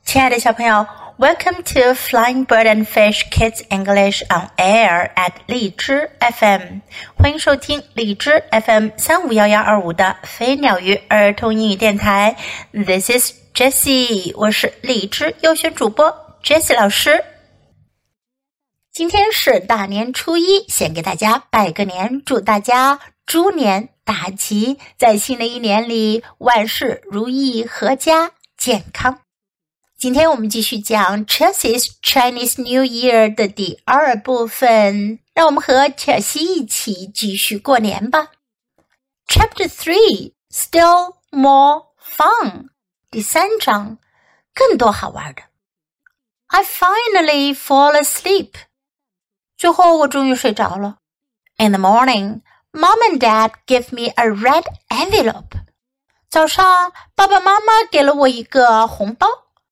亲爱的小朋友 Welcome to Flying Bird and Fish Kids English on Air at 荔枝 FM 欢迎收听荔枝 FM 35112的飞鸟鱼儿童英语电台 This is Jessie 我是荔枝优选主播 Jessie 老师今天是大年初一先给大家拜个年祝大家猪年大吉在新的一年里万事如意阖家健康今天我们继续讲 Chelsea's Chinese New Year 的第二部分，让我们和 Chelsea 一起继续过年吧。Chapter 3 Still More Fun 第3章更多好玩的。I finally fall asleep 最后我终于睡着了。In the morning, Mom and Dad give me a red envelope 早上爸爸妈妈给了我一个红包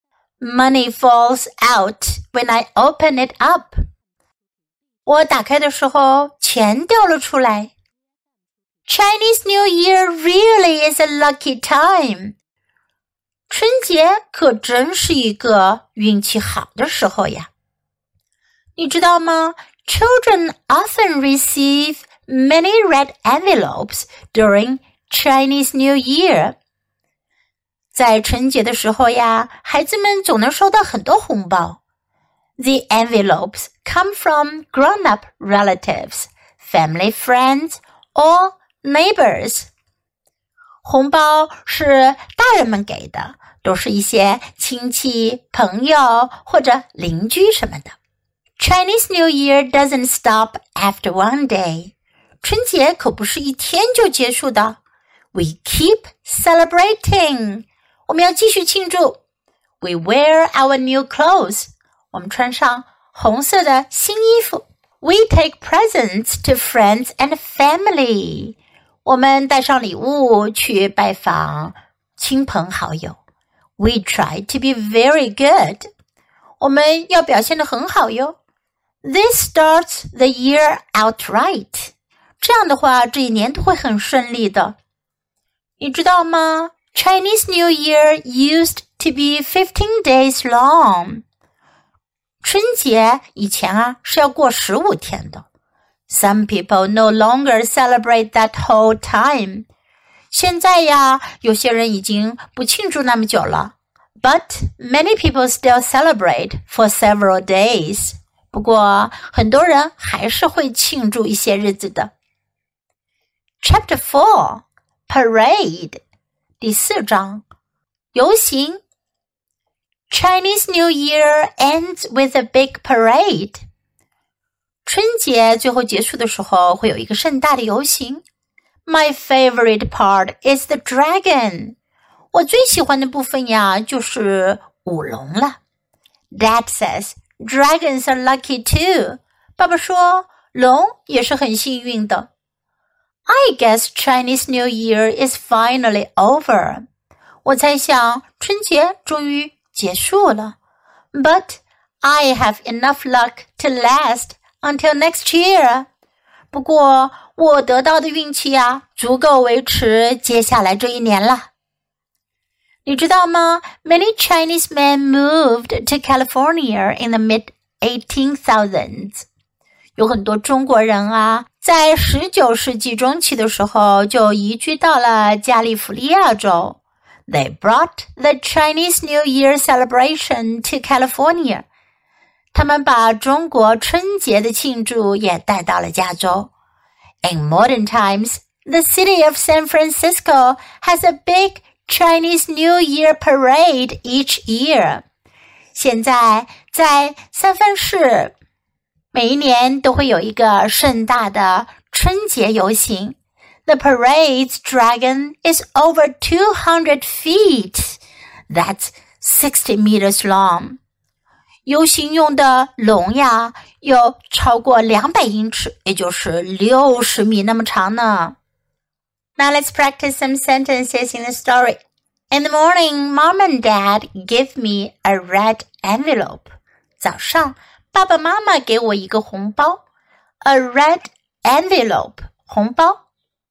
Money falls out when I open it up. 我打开的时候，钱掉了出来。Chinese New Year really is a lucky time. 春节可真是一个运气好的时候呀。你知道吗？ Children often receive many red envelopes during Chinese New Year.在春节的时候呀，孩子们总能收到很多红包。The envelopes come from grown-up relatives, family friends, or neighbors. 红包是大人们给的，都是一些亲戚、朋友或者邻居什么的。Chinese New Year doesn't stop after one day. 春节可不是一天就结束的。We keep celebrating.我们要继续庆祝 We wear our new clothes 我们穿上红色的新衣服 We take presents to friends and family 我们带上礼物去拜访亲朋好友 We try to be very good 我们要表现得很好哟 This starts the year out right 这样的话这一年都会很顺利的你知道吗Chinese New Year used to be 15 days long. 春节以前是要过15天的。Some people no longer celebrate that whole time. 现在呀，有些人已经不庆祝那么久了。But many people still celebrate for several days. 不过，很多人还是会庆祝一些日子的。Chapter 4 Parade第4章游行 Chinese New Year ends with a big parade 春节最后结束的时候会有一个盛大的游行 My favorite part is the dragon 我最喜欢的部分呀就是舞龙了 Dad says dragons are lucky too 爸爸说龙也是很幸运的I guess Chinese New Year is finally over. 我猜想春节终于结束了。But I have enough luck to last until next year. 不过我得到的运气呀，足够维持接下来这一年了。你知道吗 Many Chinese men moved to California in the mid-1800s. 有很多中国人在19世纪中期的时候就移居到了加利福利亚州。They brought the Chinese New Year celebration to California. 他们把中国春节的庆祝也带到了加州。In modern times, the city of San Francisco has a big Chinese New Year parade each year. 现在在三藩市每一年都会有一个盛大的春节游行。The parade's dragon is over 200 feet. That's 60 meters long. 游行用的龙呀，有超过200英尺，也就是60米那么长呢。Now let's practice some sentences in the story. In the morning, Mom and Dad give me a red envelope. 早上爸爸妈妈给我一个红包 A red envelope 红包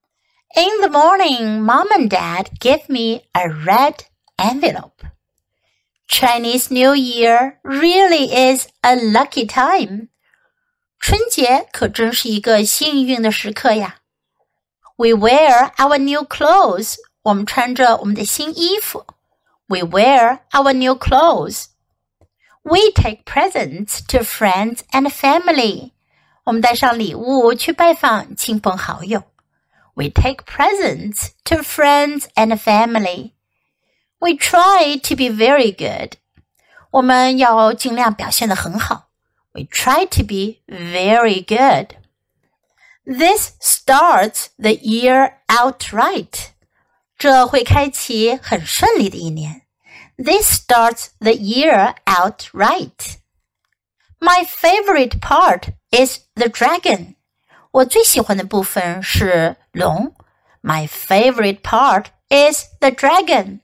In the morning, Mom and Dad give me a red envelope Chinese New Year really is a lucky time. 春节可真是一个幸运的时刻呀。We wear our new clothes. 我们穿着我们的新衣服。We wear our new clothes. We take presents to friends and family. 我们带上礼物去拜访亲朋好友。We take presents to friends and family. We try to be very good. 我们要尽量表现得很好。We try to be very good. This starts the year out right. 这会开启很顺利的一年。This starts the year out right. My favorite part is the dragon. 我最喜欢的部分是龙。My favorite part is the dragon.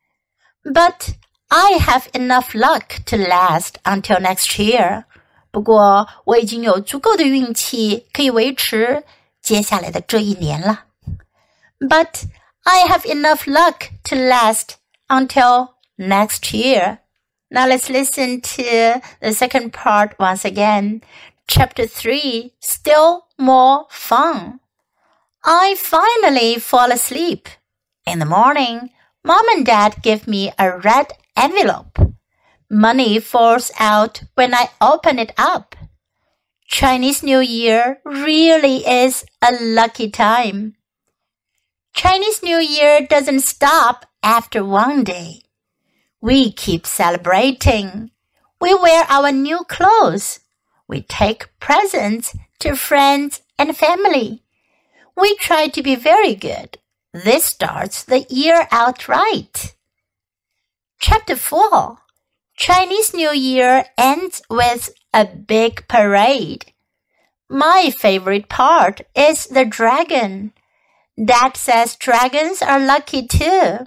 But I have enough luck to last until next year. 不过我已经有足够的运气可以维持接下来的这一年了。But I have enough luck to last until next year. Now let's listen to the second part once again. Chapter 3, Still More Fun. I finally fall asleep. In the morning, Mom and Dad give me a red envelope. Money falls out when I open it up. Chinese New Year really is a lucky time. Chinese New Year doesn't stop after one day. We keep celebrating. We wear our new clothes. We take presents to friends and family. We try to be very good. This starts the year out right. Chapter 4. Chinese New Year ends with a big parade. My favorite part is the dragon. Dad says dragons are lucky too.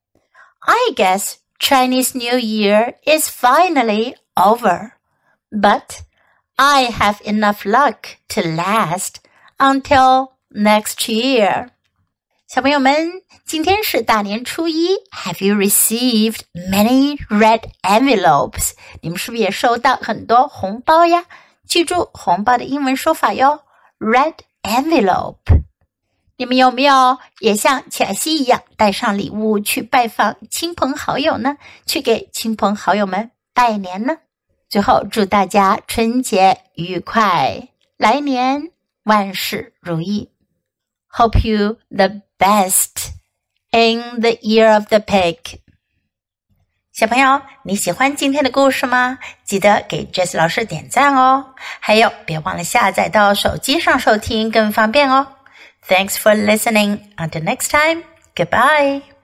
I guess Chinese New Year is finally over. But I have enough luck to last until next year. 小朋友们，今天是大年初一。Have you received many red envelopes? 你们是不是也收到很多红包呀？记住红包的英文说法哟 ，red envelope。你们有没有也像巧西一样带上礼物去拜访亲朋好友呢？去给亲朋好友们拜年呢？最后祝大家春节愉快，来年万事如意。Hope you the best in the year of the pig. 小朋友，你喜欢今天的故事吗？记得给 Jess 老师点赞哦。还有，别忘了下载到手机上收听更方便哦。Thanks for listening. Until next time, goodbye.